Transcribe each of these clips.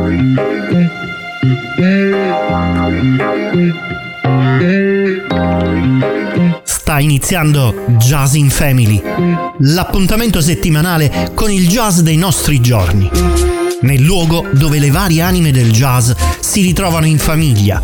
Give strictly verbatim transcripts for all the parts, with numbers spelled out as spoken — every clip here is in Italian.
Sta iniziando Jazz in Family, l'appuntamento settimanale con il jazz dei nostri giorni, nel luogo dove le varie anime del jazz si ritrovano in famiglia.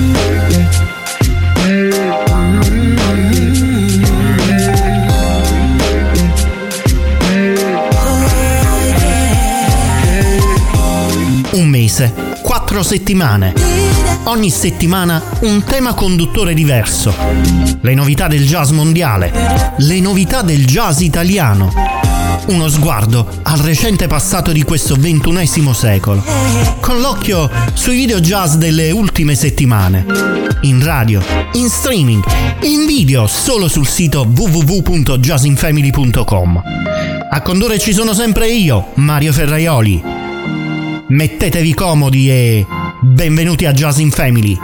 Un mese, quattro settimane. Ogni settimana un tema conduttore diverso. Le novità del jazz mondiale, le novità del jazz italiano. Uno sguardo al recente passato di questo ventunesimo secolo, con l'occhio sui video jazz delle ultime settimane. In radio, in streaming, in video solo sul sito w w w punto jazz in family punto com. A condurre ci sono sempre io, Mario Ferraioli. Mettetevi comodi e benvenuti a Jazz in Family.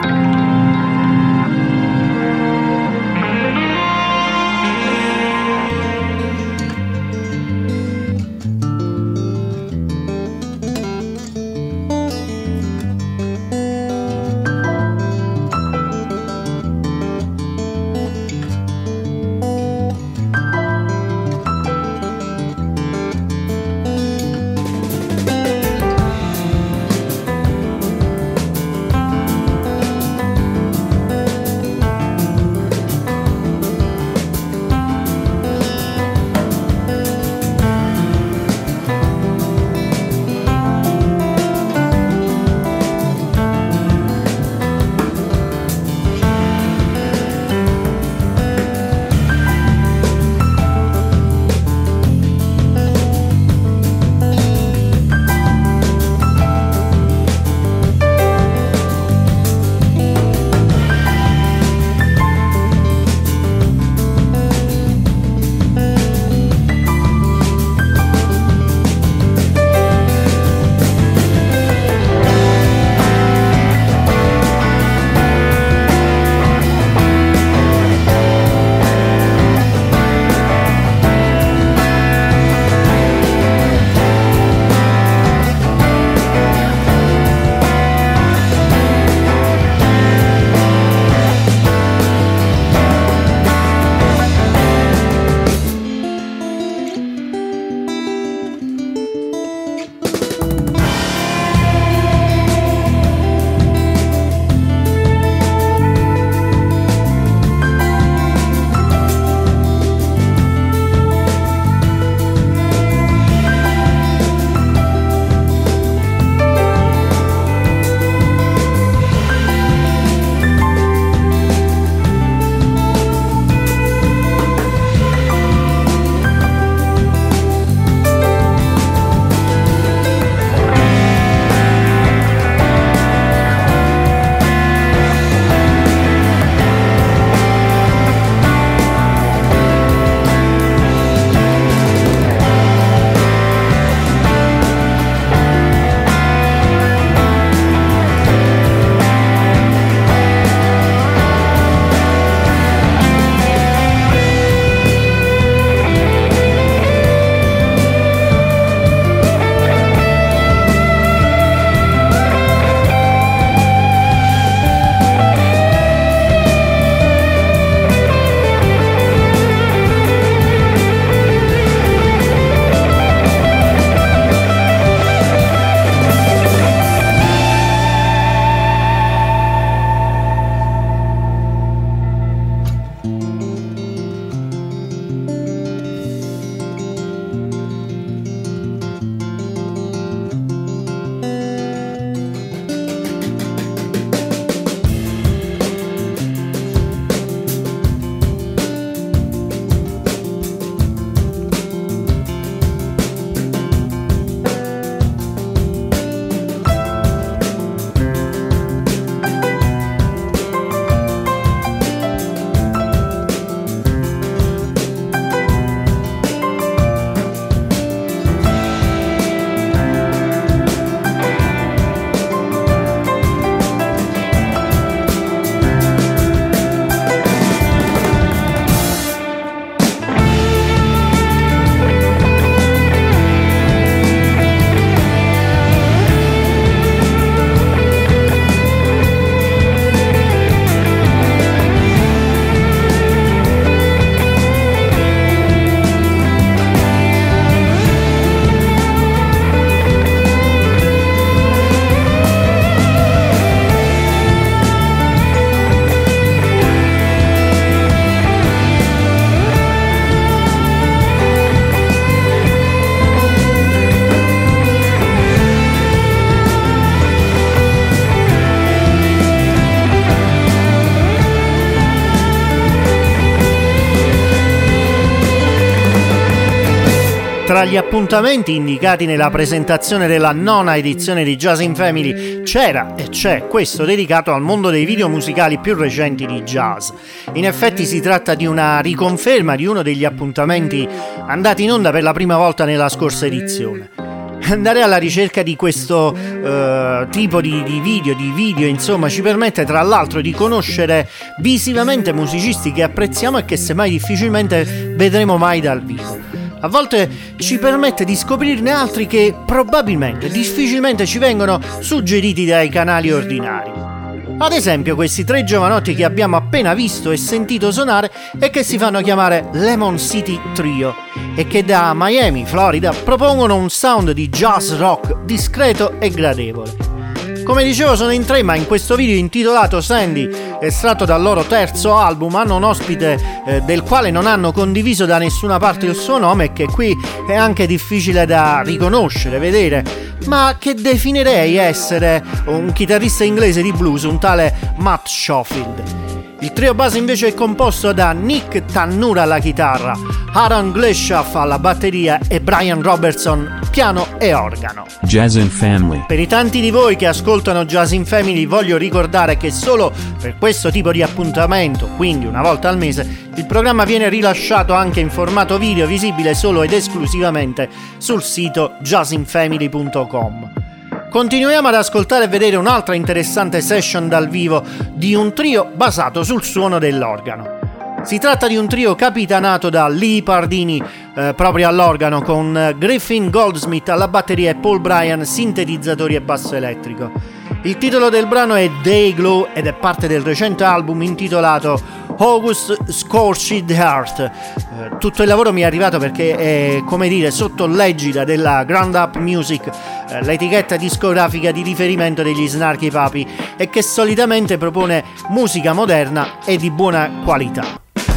tra gli appuntamenti indicati nella presentazione della nona edizione di Jazz in Family c'era e c'è questo dedicato al mondo dei video musicali più recenti di jazz. In effetti si tratta di una riconferma di uno degli appuntamenti andati in onda per la prima volta nella scorsa edizione. Andare alla ricerca di questo uh, tipo di, di video, di video, insomma, ci permette tra l'altro di conoscere visivamente musicisti che apprezziamo e che semmai difficilmente vedremo mai dal vivo. A volte ci permette di scoprirne altri che probabilmente, difficilmente ci vengono suggeriti dai canali ordinari. Ad esempio questi tre giovanotti che abbiamo appena visto e sentito suonare e che si fanno chiamare Lemon City Trio e che da Miami, Florida, propongono un sound di jazz rock discreto e gradevole. Come dicevo, sono in tre, ma in questo video intitolato Sandy, estratto dal loro terzo album, hanno un ospite eh, del quale non hanno condiviso da nessuna parte il suo nome e che qui è anche difficile da riconoscere, vedere, ma che definirei essere un chitarrista inglese di blues, un tale Matt Schofield. Il trio base invece è composto da Nick Tannura alla chitarra, Aaron Gleshaff alla batteria e Brian Robertson piano e organo. Jazz in Family. Per i tanti di voi che ascoltano Jazz in Family voglio ricordare che solo per questo tipo di appuntamento, quindi una volta al mese, il programma viene rilasciato anche in formato video visibile solo ed esclusivamente sul sito jazz in family punto com. Continuiamo ad ascoltare e vedere un'altra interessante session dal vivo di un trio basato sul suono dell'organo. Si tratta di un trio capitanato da Lee Pardini eh, proprio all'organo, con Griffin Goldsmith alla batteria e Paul Bryan sintetizzatori e basso elettrico. Il titolo del brano è Day Glow ed è parte del recente album intitolato August Scorched Heart. Eh, tutto il lavoro mi è arrivato perché è, come dire, sotto l'egida della Ground Up Music, eh, l'etichetta discografica di riferimento degli Snarky Puppy, e che solitamente propone musica moderna e di buona qualità.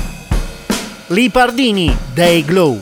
Lee Pardini, Day Glow.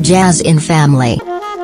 Jazz in Family.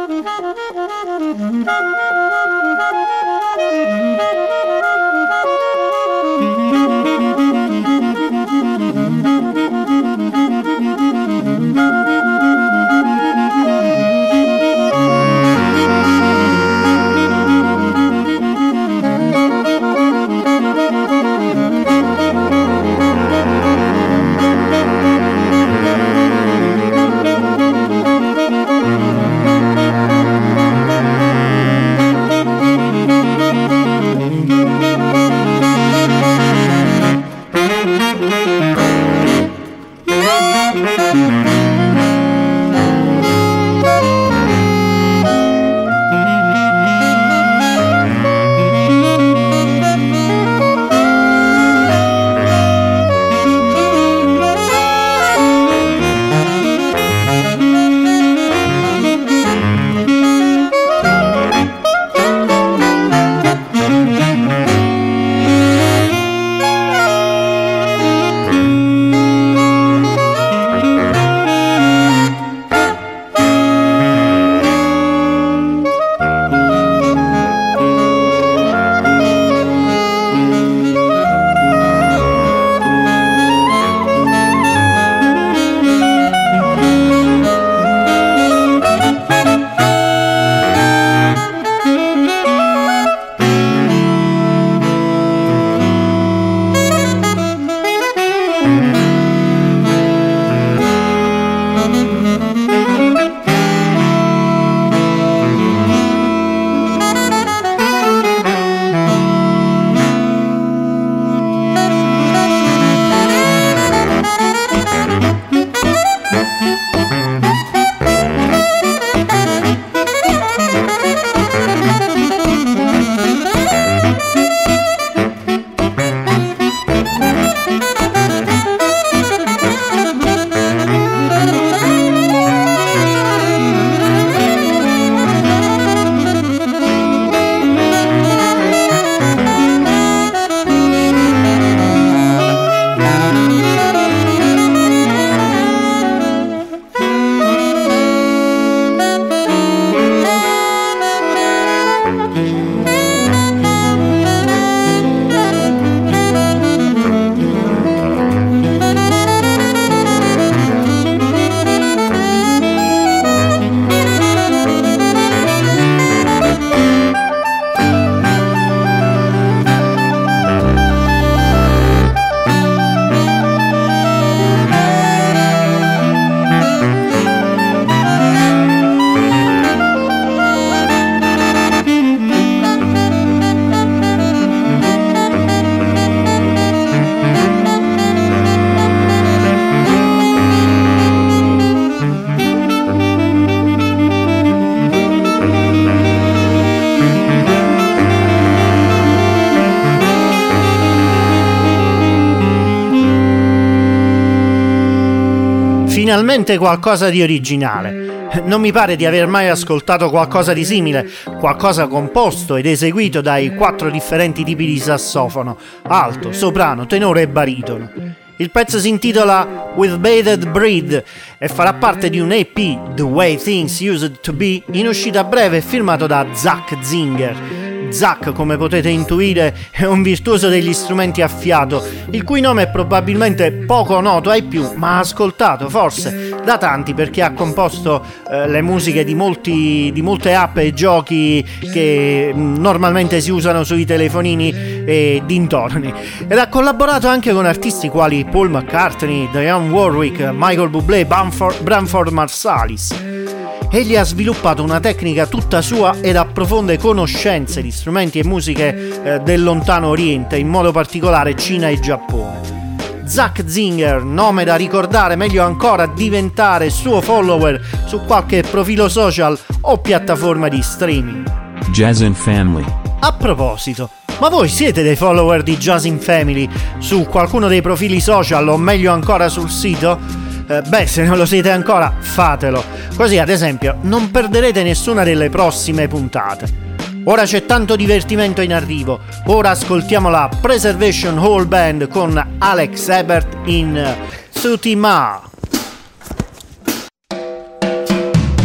Finalmente qualcosa di originale. Non mi pare di aver mai ascoltato qualcosa di simile, qualcosa composto ed eseguito dai quattro differenti tipi di sassofono, alto, soprano, tenore e baritono. Il pezzo si intitola With Bated Breath e farà parte di un E P, The Way Things Used to Be, in uscita breve, firmato da Zach Zinger. Zach, come potete intuire, è un virtuoso degli strumenti a fiato, il cui nome è probabilmente poco noto ai più, ma ascoltato forse da tanti perché ha composto eh, le musiche di, molti, di molte app e giochi che mh, normalmente si usano sui telefonini e dintorni, ed ha collaborato anche con artisti quali Paul McCartney, Dionne Warwick, Michael Bublé, Bamford, Branford Marsalis. Egli ha sviluppato una tecnica tutta sua ed ha profonde conoscenze di strumenti e musiche eh, del lontano oriente, in modo particolare Cina e Giappone. Zach Zinger, nome da ricordare, meglio ancora diventare suo follower su qualche profilo social o piattaforma di streaming. Jazz in Family. A proposito, ma voi siete dei follower di Jazz in Family su qualcuno dei profili social o meglio ancora sul sito? Eh, beh, se non lo siete ancora, fatelo. Così, ad esempio, non perderete nessuna delle prossime puntate. Ora c'è tanto divertimento in arrivo. Ora ascoltiamo la Preservation Hall Band con Alex Ebert in Suti Ma.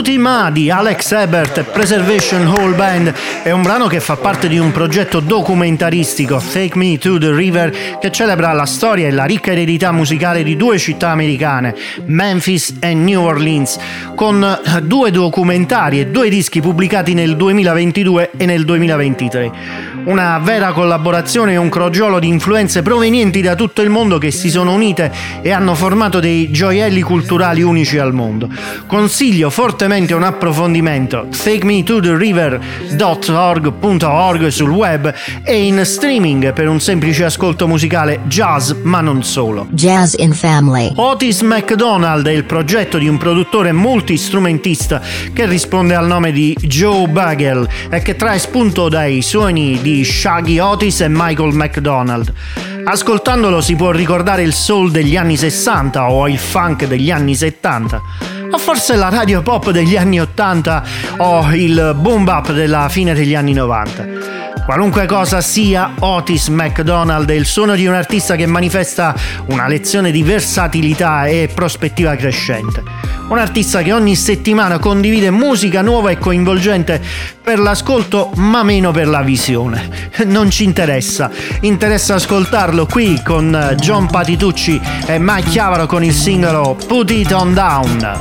Tutti Ma di Alex Ebert e Preservation Hall Band è un brano che fa parte di un progetto documentaristico, Take Me to the River, che celebra la storia e la ricca eredità musicale di due città americane, Memphis e New Orleans, con due documentari e due dischi pubblicati nel duemilaventidue e nel duemilaventitré. Una vera collaborazione e un crogiolo di influenze provenienti da tutto il mondo che si sono unite e hanno formato dei gioielli culturali unici al mondo. Consiglio fortemente un approfondimento, take me to the river dot org punto org sul web e in streaming per un semplice ascolto musicale jazz, ma non solo. Jazz in Family. Otis McDonald è il progetto di un produttore multistrumentista che risponde al nome di Joe Bagel e che trae spunto dai suoni di Shaggy Otis e Michael McDonald. Ascoltandolo si può ricordare il soul degli anni sessanta o il funk degli anni settanta, o forse la radio pop degli anni ottanta o il boom bap della fine degli anni novanta. Qualunque cosa sia, Otis McDonald è il suono di un artista che manifesta una lezione di versatilità e prospettiva crescente. Un artista che ogni settimana condivide musica nuova e coinvolgente per l'ascolto, ma meno per la visione. Non ci interessa, interessa ascoltarlo qui con John Patitucci e Mike Chiavaro con il singolo Put It On Down.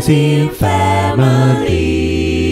in Family.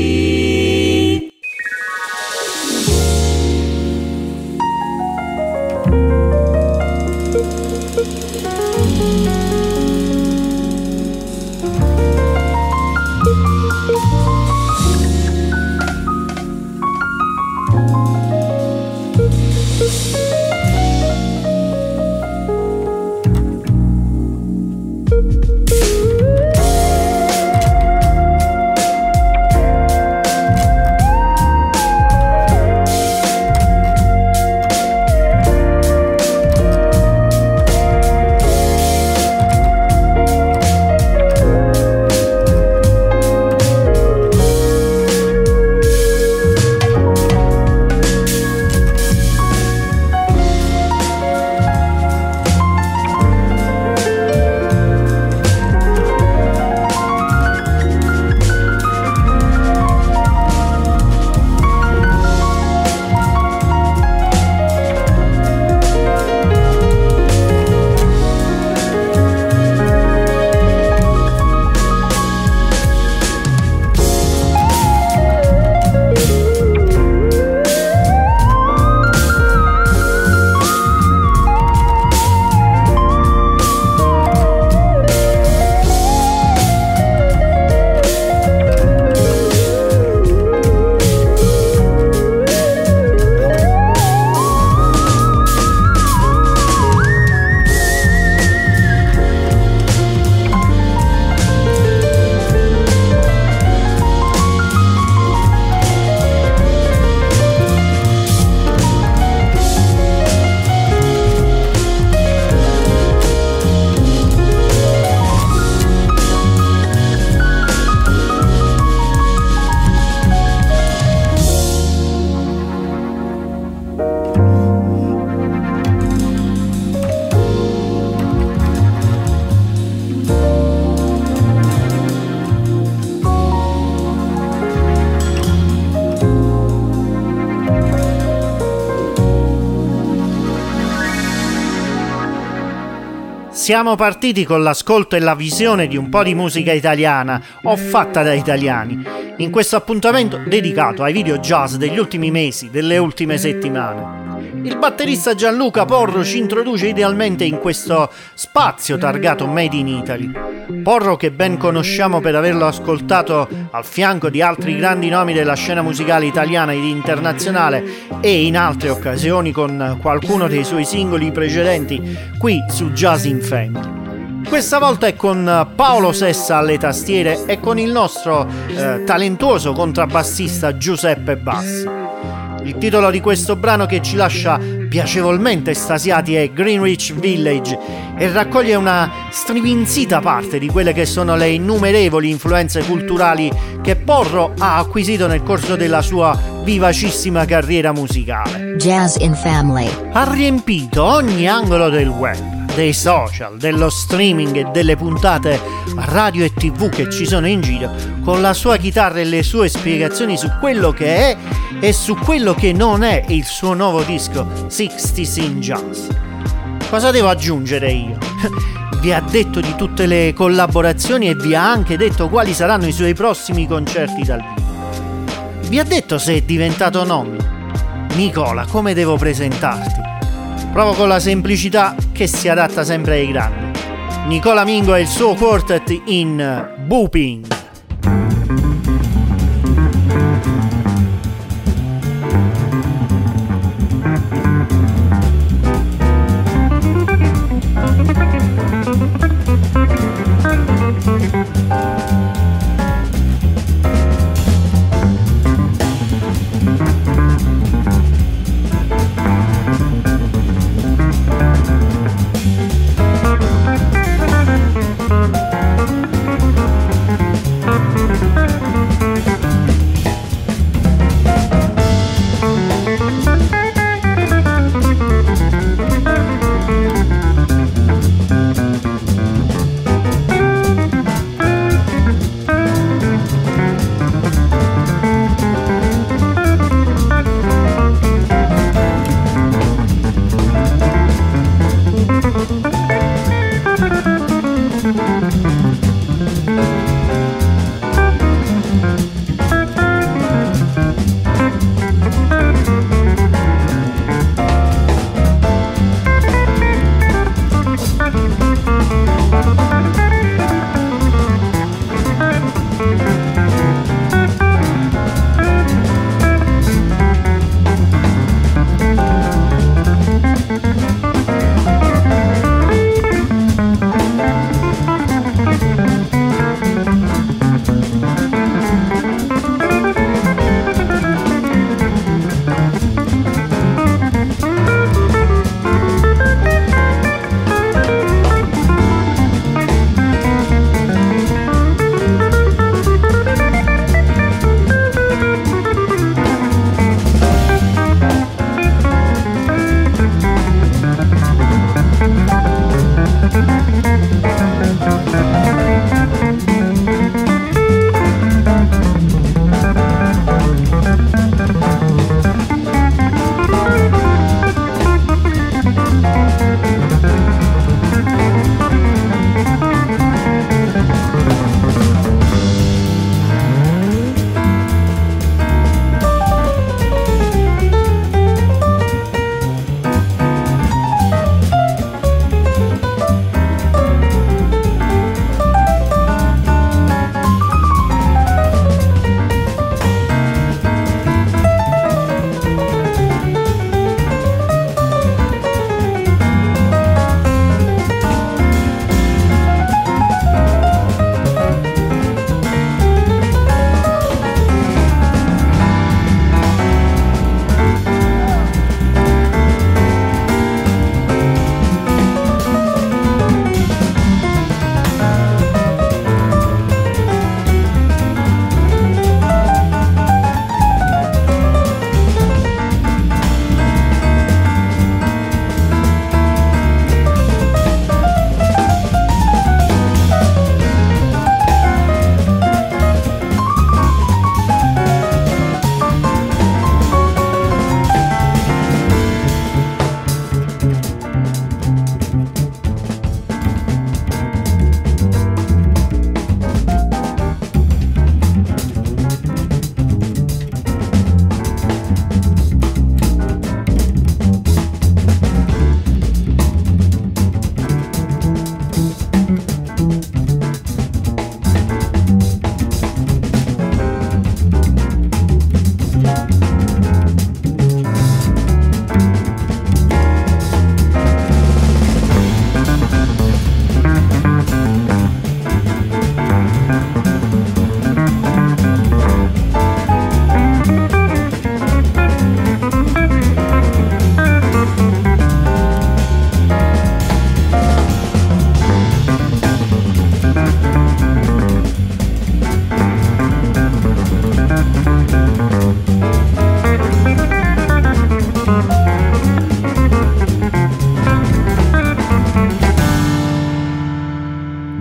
Siamo partiti con l'ascolto e la visione di un po' di musica italiana o fatta da italiani, in questo appuntamento dedicato ai video jazz degli ultimi mesi, delle ultime settimane. Il batterista Gianluca Porro ci introduce idealmente in questo spazio targato Made in Italy. Porro, che ben conosciamo per averlo ascoltato al fianco di altri grandi nomi della scena musicale italiana ed internazionale e in altre occasioni con qualcuno dei suoi singoli precedenti qui su Jazz in Family. Questa volta è con Paolo Sessa alle tastiere e con il nostro eh, talentuoso contrabbassista Giuseppe Bassi. Il titolo di questo brano, che ci lascia piacevolmente estasiati, è Greenwich Village e raccoglie una striminzita parte di quelle che sono le innumerevoli influenze culturali che Porro ha acquisito nel corso della sua vivacissima carriera musicale. Jazz in Family Ha riempito ogni angolo del web, dei social, dello streaming e delle puntate radio e tv che ci sono in giro, con la sua chitarra e le sue spiegazioni su quello che è e su quello che non è il suo nuovo disco sixties in Jazz. Cosa devo aggiungere io? Vi ha detto di tutte le collaborazioni e vi ha anche detto quali saranno i suoi prossimi concerti dal vivo. Vi ha detto se è diventato nonno. Nicola, come devo presentarti? Provo con la semplicità che si adatta sempre ai grandi. Nicola Mingo e il suo quartet in Booping.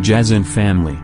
Jazz and Family.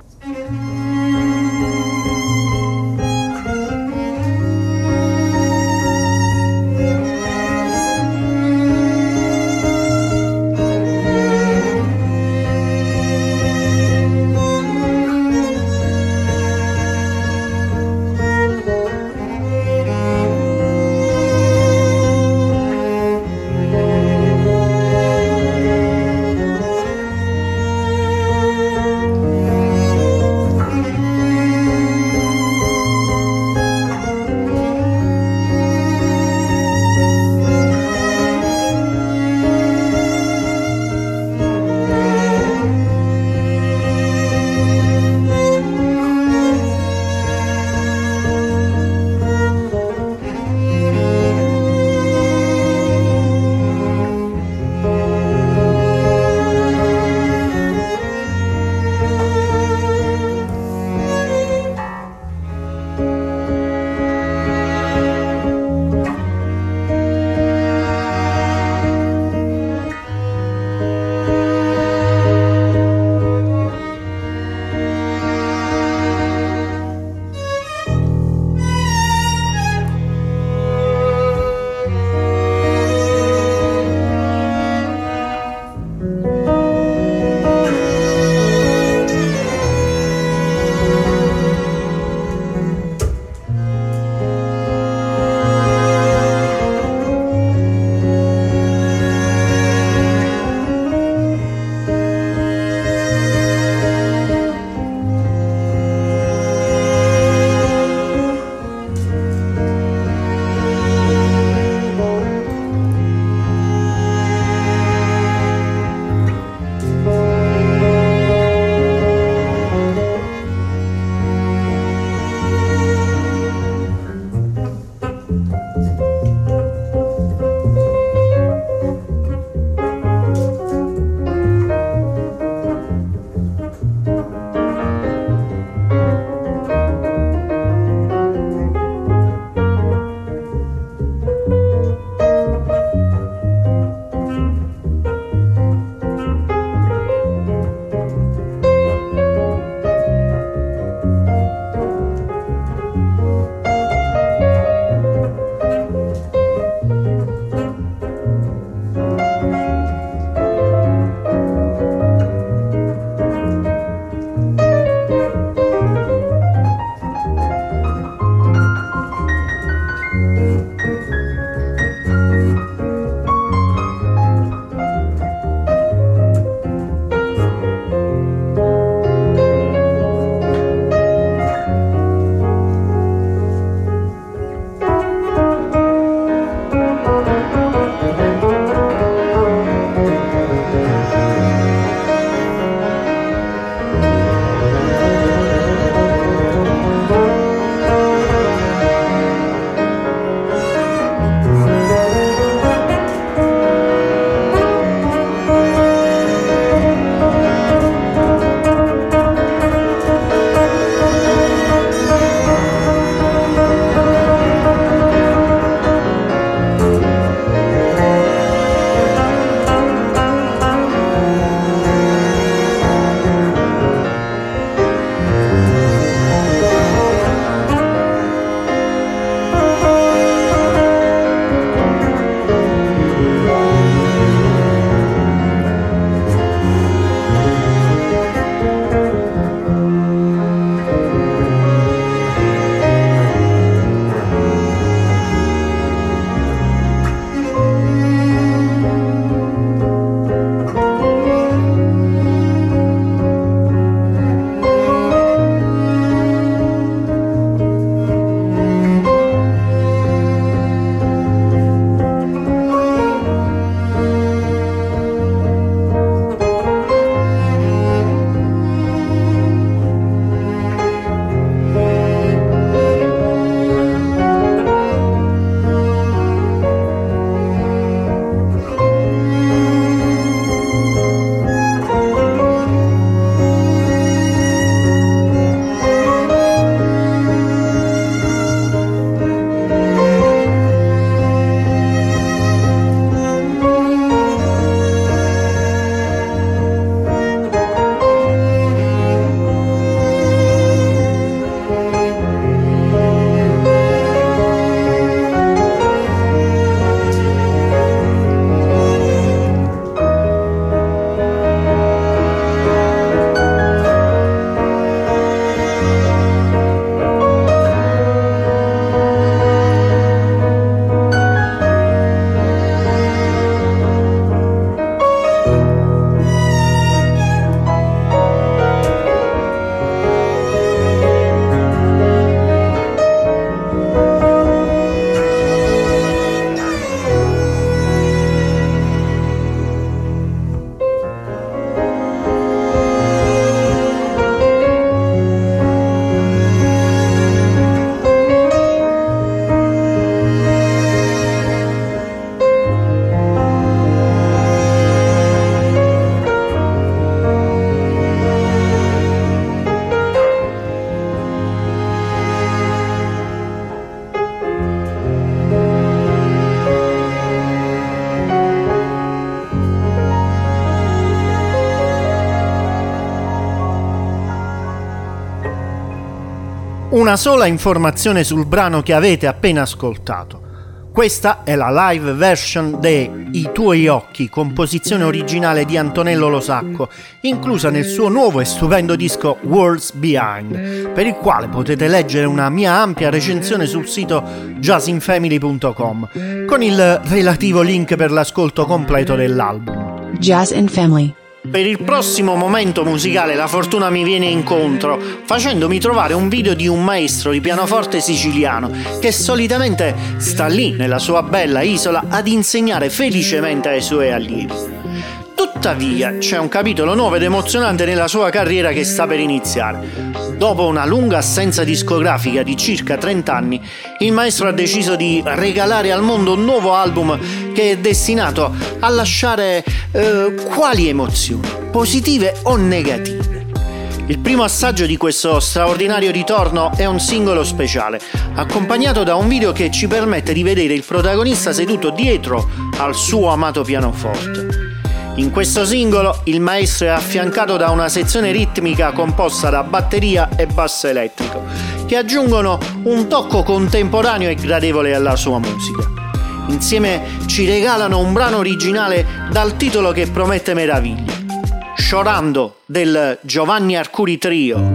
Una sola informazione sul brano che avete appena ascoltato. Questa è la live version de I tuoi occhi, composizione originale di Antonello Lo Sacco, inclusa nel suo nuovo e stupendo disco Worlds Behind, per il quale potete leggere una mia ampia recensione sul sito jazz in family punto com, con il relativo link per l'ascolto completo dell'album. Jazz in Family. Per il prossimo momento musicale la fortuna mi viene incontro facendomi trovare un video di un maestro di pianoforte siciliano che solitamente sta lì nella sua bella isola ad insegnare felicemente ai suoi allievi. Tuttavia c'è un capitolo nuovo ed emozionante nella sua carriera che sta per iniziare. Dopo una lunga assenza discografica di circa trenta anni, il maestro ha deciso di regalare al mondo un nuovo album che è destinato a lasciare eh, quali emozioni, positive o negative. Il primo assaggio di questo straordinario ritorno è un singolo speciale, accompagnato da un video che ci permette di vedere il protagonista seduto dietro al suo amato pianoforte. In questo singolo il maestro è affiancato da una sezione ritmica composta da batteria e basso elettrico, che aggiungono un tocco contemporaneo e gradevole alla sua musica. Insieme ci regalano un brano originale dal titolo che promette meraviglie, Sciorando del Giovanni Arcuri Trio.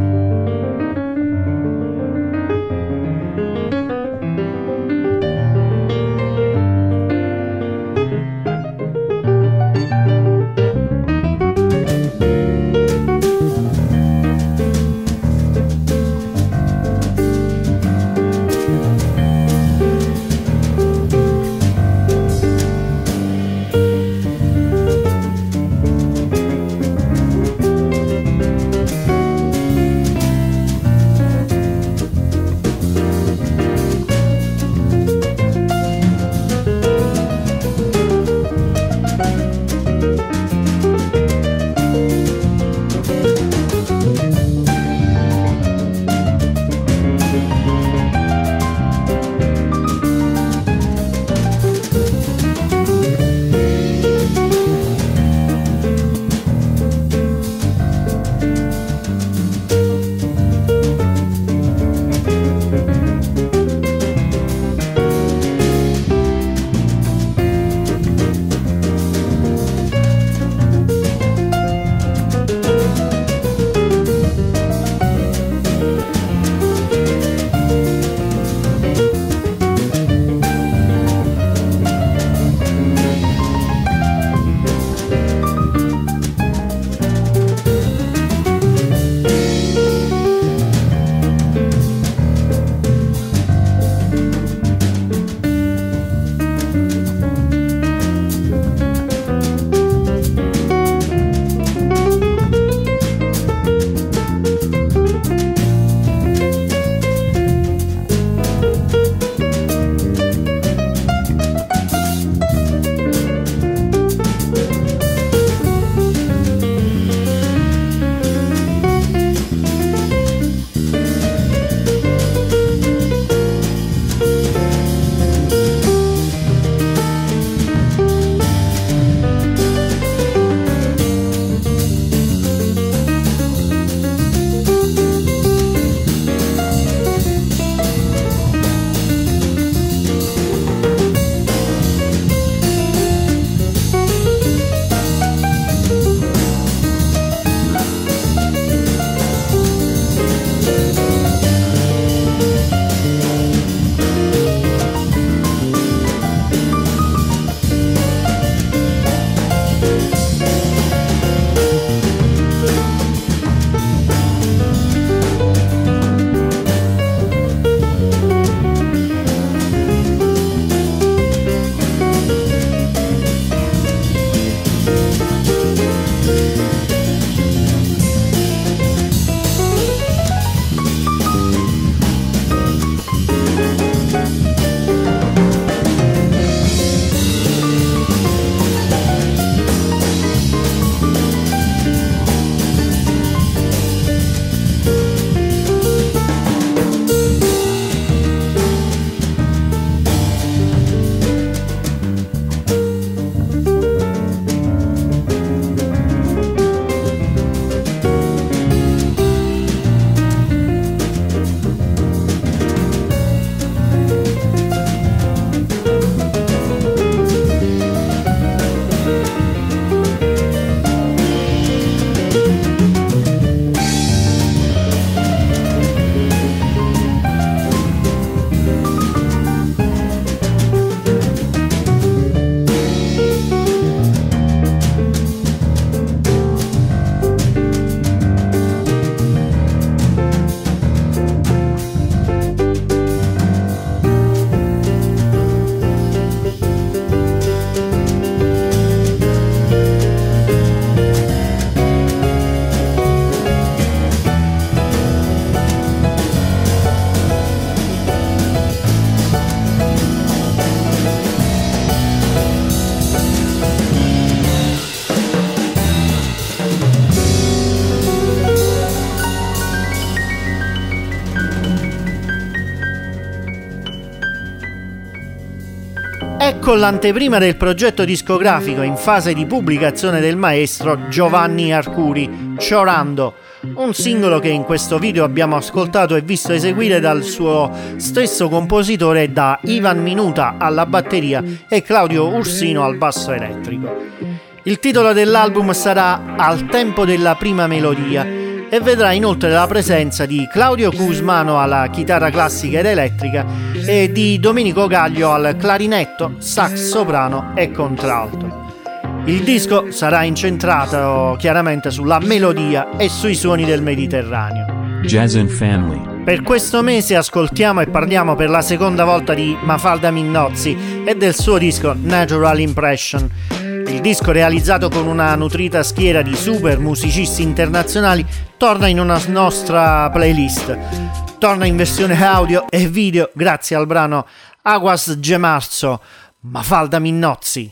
con l'anteprima del progetto discografico in fase di pubblicazione del maestro Giovanni Arcuri, Ciorando, un singolo che in questo video abbiamo ascoltato e visto eseguire dal suo stesso compositore, da Ivan Minuta alla batteria e Claudio Ursino al basso elettrico. Il titolo dell'album sarà Al tempo della prima melodia e vedrà inoltre la presenza di Claudio Cusmano alla chitarra classica ed elettrica e di Domenico Gaglio al clarinetto, sax soprano e contralto. Il disco sarà incentrato chiaramente sulla melodia e sui suoni del Mediterraneo. Jazz and Family. Per questo mese ascoltiamo e parliamo per la seconda volta di Mafalda Minnozzi e del suo disco Natural Impression. Il disco, realizzato con una nutrita schiera di super musicisti internazionali, torna in una nostra playlist. Torna in versione audio e video grazie al brano Aguas de Marzo, Mafalda Minnozzi.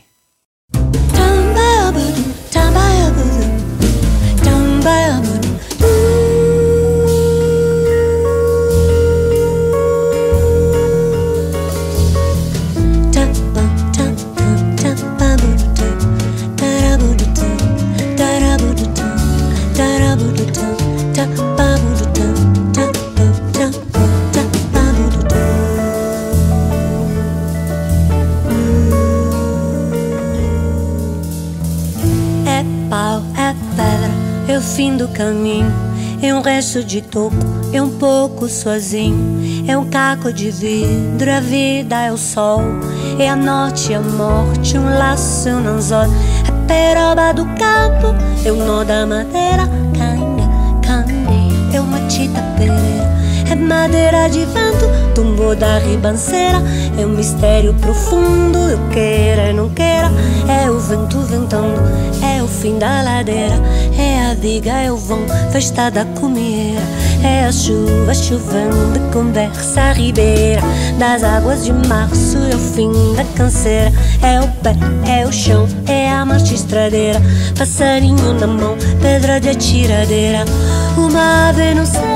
É o fim do caminho, é um resto de toco, é um pouco sozinho. É um caco de vidro, a vida é o sol, é a noite e a morte, um laço e um anzol. A peroba do campo, é o nó da madeira, canha, canha, é uma tita pereira. É madeira de vento, tumbo da ribanceira. É um mistério profundo, eu queira e não queira. É o vento ventando, é o fim da ladeira. É a viga, é o vão, festa da comieira. É a chuva chovendo, conversa a ribeira. Das águas de março é o fim da canseira. É o pé, é o chão, é a marcha estradeira. Passarinho na mão, pedra de atiradeira. Uma ave no céu,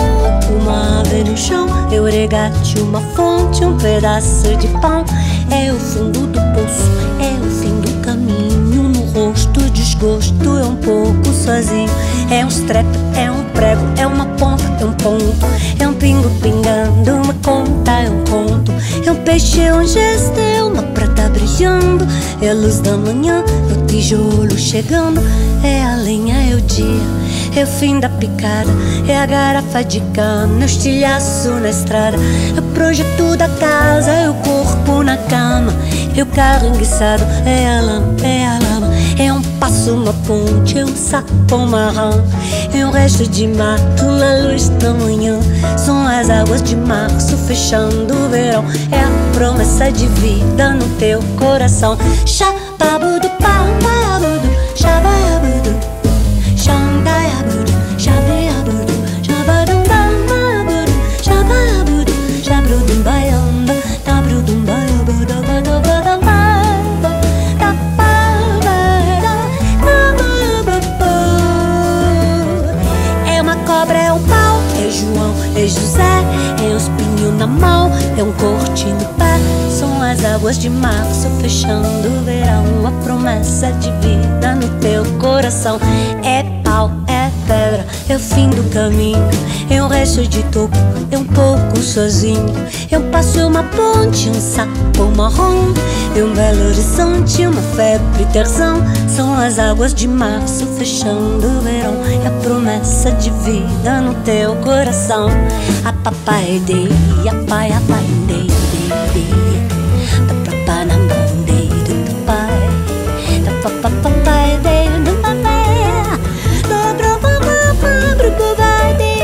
uma ave no chão. É o regate, uma fonte, um pedaço de pão. É o fundo do poço, é o fim do caminho. No rosto, desgosto, é um pouco sozinho. É um strep, é um prego, é uma ponta, é um ponto. É um pingo pingando, uma conta, é um conto. É um peixe, é um gesto, é uma prata brilhando. É a luz da manhã, é o tijolo chegando. É a lenha, é o dia. É o fim da picada, é a garrafa de cana, é o estilhaço na estrada. É o projeto da casa, é o corpo na cama. É o carro enguiçado, é a lama, é a lama. É um passo, uma ponte, é um sapo marrom. É um resto de mato na luz da manhã. São as águas de março fechando o verão. É a promessa de vida no teu coração. Shababudu, pababudu, shababudu. Shandayabudu, shabayabudu, shabadumbabudu, shababudu, shabrudumbayamba, tabrudumbayabudu, badabadababa, tapabada, tabababu. É uma cobra, é um pau, é João, é José, é um espinho na mão, é um corte no pé. São as águas de março fechando o verão. A promessa de vida no teu coração. É pau, é pedra, é o fim do caminho. É um resto de toco, é um pouco sozinho. É um passo, é uma ponte, um sapo marrom. É um belo horizonte, uma febre terzão. São as águas de março fechando o verão. É a promessa de vida no teu coração. A papai dei, a pai, a pai dei, dei, dei. Da papa na mão dei, do papai. Da papa, papai dei, do papai. Da papa, papai, do papai dei.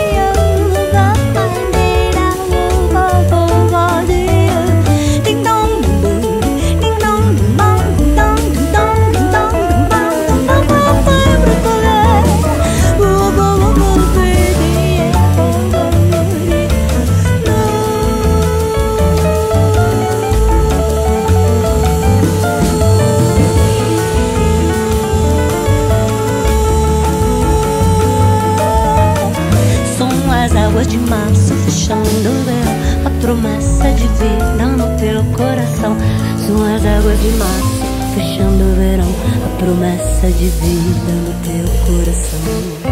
promessa de vida no teu coração.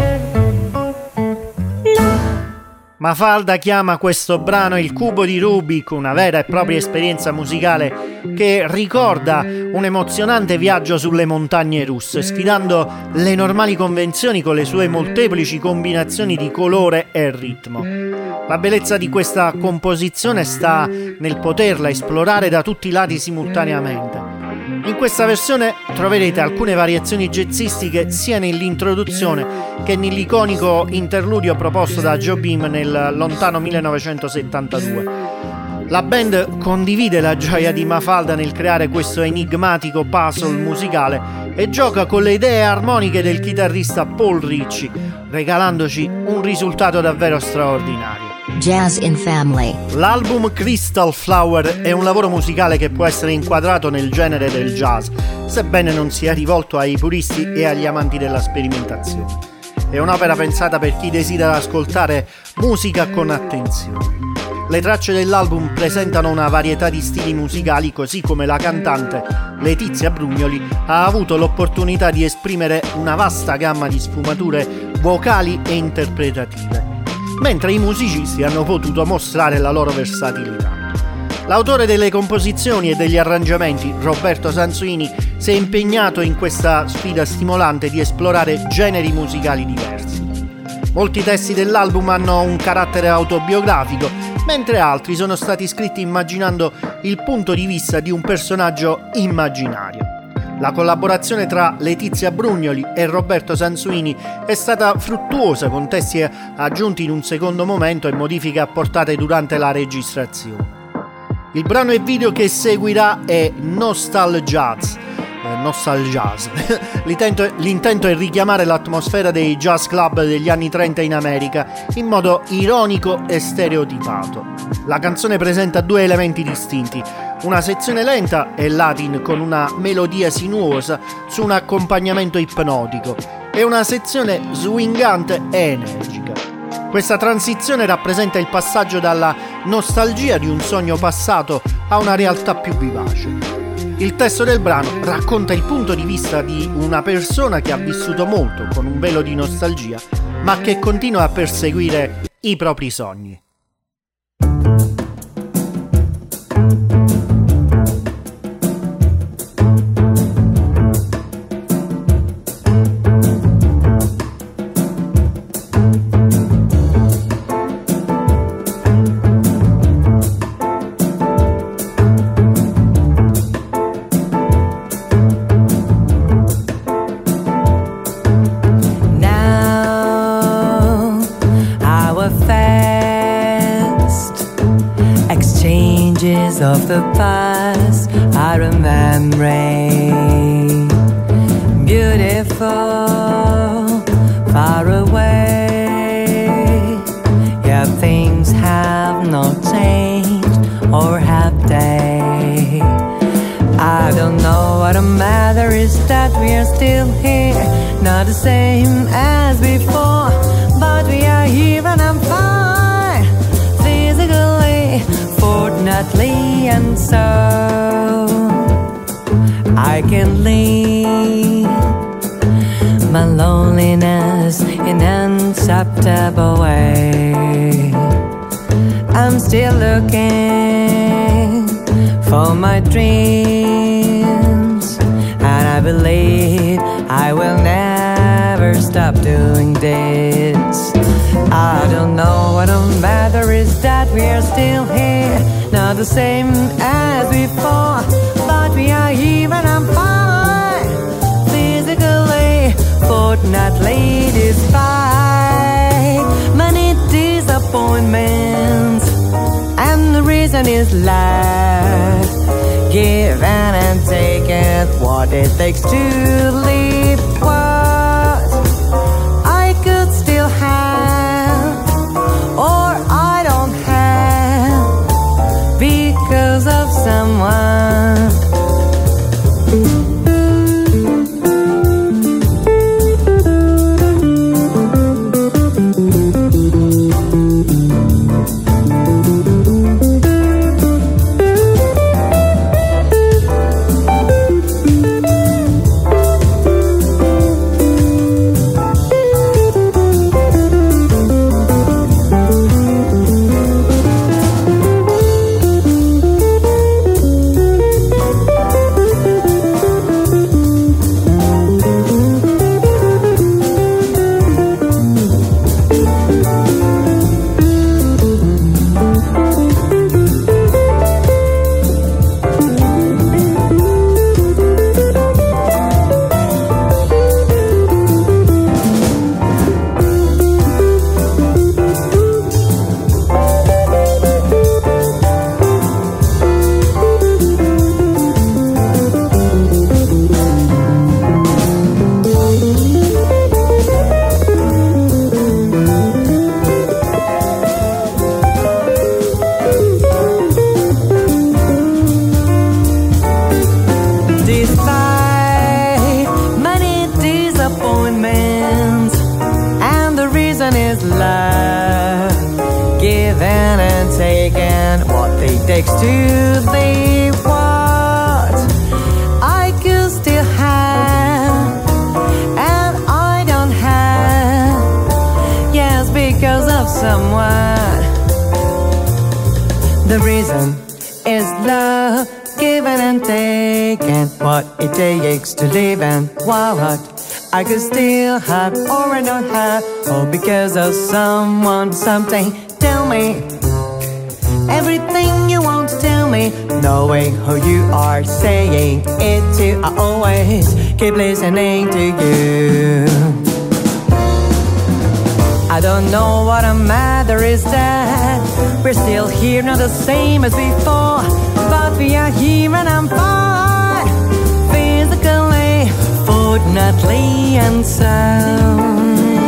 Mafalda chiama questo brano il cubo di Rubik, una vera e propria esperienza musicale che ricorda un emozionante viaggio sulle montagne russe, sfidando le normali convenzioni con le sue molteplici combinazioni di colore e ritmo. La bellezza di questa composizione sta nel poterla esplorare da tutti i lati simultaneamente. In questa versione troverete alcune variazioni jazzistiche sia nell'introduzione che nell'iconico interludio proposto da Jobim nel lontano millenovecentosettantadue. La band condivide la gioia di Mafalda nel creare questo enigmatico puzzle musicale e gioca con le idee armoniche del chitarrista Paul Ritchie, regalandoci un risultato davvero straordinario. Jazz in Family. L'album Crystal Flower è un lavoro musicale che può essere inquadrato nel genere del jazz, sebbene non sia rivolto ai puristi e agli amanti della sperimentazione. È un'opera pensata per chi desidera ascoltare musica con attenzione. Le tracce dell'album presentano una varietà di stili musicali, così come la cantante Letizia Brugnoli ha avuto l'opportunità di esprimere una vasta gamma di sfumature vocali e interpretative, mentre i musicisti hanno potuto mostrare la loro versatilità. L'autore delle composizioni e degli arrangiamenti, Roberto Sansuini, si è impegnato in questa sfida stimolante di esplorare generi musicali diversi. Molti testi dell'album hanno un carattere autobiografico, mentre altri sono stati scritti immaginando il punto di vista di un personaggio immaginario. La collaborazione tra Letizia Brugnoli e Roberto Sansuini è stata fruttuosa, con testi aggiunti in un secondo momento e modifiche apportate durante la registrazione. Il brano e video che seguirà è Nostalgiaz. Eh, Nostalgiaz. l'intento, l'intento è richiamare l'atmosfera dei jazz club degli anni trenta in America in modo ironico e stereotipato. La canzone presenta due elementi distinti: una sezione lenta e latin con una melodia sinuosa su un accompagnamento ipnotico e una sezione swingante e energica. Questa transizione rappresenta il passaggio dalla nostalgia di un sogno passato a una realtà più vivace. Il testo del brano racconta il punto di vista di una persona che ha vissuto molto con un velo di nostalgia, ma che continua a perseguire i propri sogni. Of the past I remember, beautiful, far away. Yeah, things have not changed, or have they? I don't know what the matter is, that we are still here, not the same as before, but we are here and I'm fine, physically, fortunately, and so I can leave my loneliness in an acceptable way. I'm still looking for my dreams, and I believe I will never stop doing this. I don't know what the matter is, that we are still here, not the same as before, but we are here and I'm fine, physically, fortunately, despite many disappointments, and the reason is life, give and take it, what it takes to live what I could still have, or I don't have, because of someone. takes to be what I could still have and I don't have. Yes, because of someone. The reason is love, giving and taking. What it takes to live and what I could still have or I don't have. All because of someone, something. Tell me everything you want to tell me, knowing who you are, saying it to. I always keep listening to you. I don't know what a matter is that we're still here, not the same as before, but we are here and I'm fine, physically, fortunately and sound.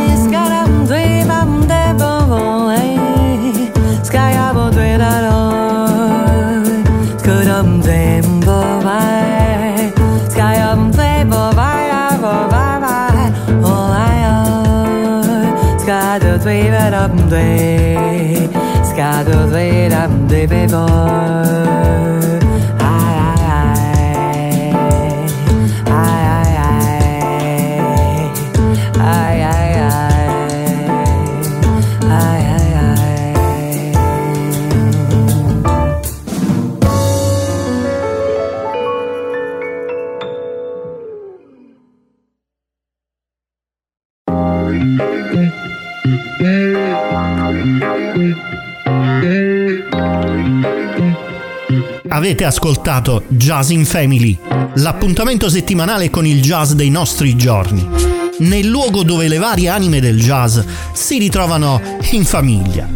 Avete ascoltato Jazz in Family, l'appuntamento settimanale con il jazz dei nostri giorni, nel luogo dove le varie anime del jazz si ritrovano in famiglia.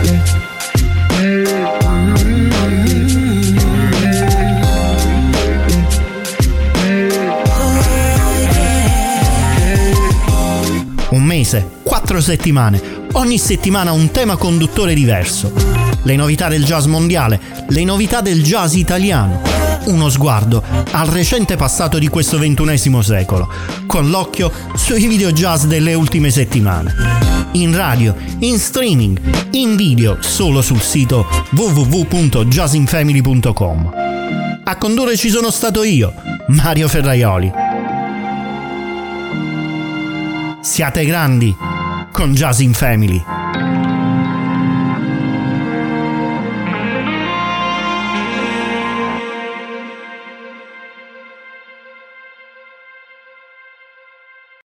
Un mese, quattro settimane, ogni settimana un tema conduttore diverso. Le novità del jazz mondiale, le novità del jazz italiano. Uno sguardo al recente passato di questo ventunesimo secolo, con l'occhio sui video jazz delle ultime settimane. In radio, in streaming, in video solo sul sito w w w punto jazz in family punto com. A condurre ci sono stato io, Mario Ferraioli. Siate grandi con Jazz in Family.